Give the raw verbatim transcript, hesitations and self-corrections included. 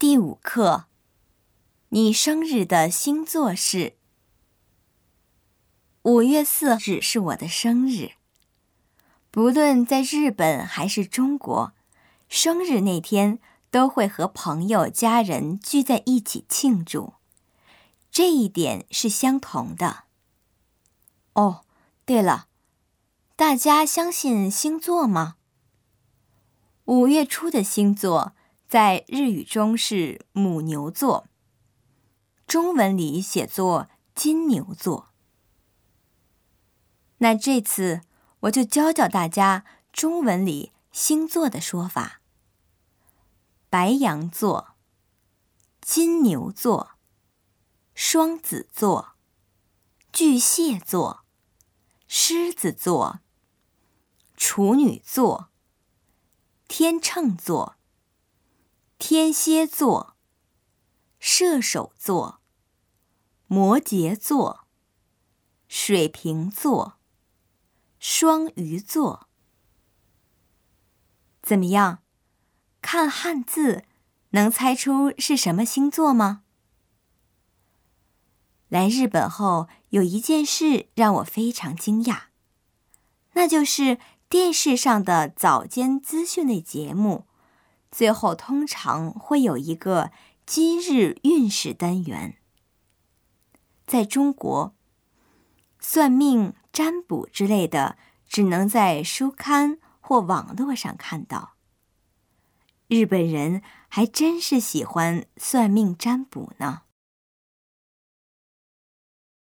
第五课，你生日的星座是？五月四日是我的生日。不论在日本还是中国，生日那天都会和朋友家人聚在一起庆祝，这一点是相同的。哦，对了，大家相信星座吗？五月初的星座在日语中是母牛座，中文里写作金牛座。那这次我就教教大家中文里星座的说法：白羊座、金牛座、双子座、巨蟹座、狮子座、处女座、天秤座、天蝎座、射手座、摩羯座、水瓶座、双鱼座。怎么样？看汉字能猜出是什么星座吗？来日本后，有一件事让我非常惊讶，那就是电视上的早间资讯类节目最后通常会有一个今日运势单元。在中国，算命、占卜之类的只能在书刊或网络上看到。日本人还真是喜欢算命占卜呢。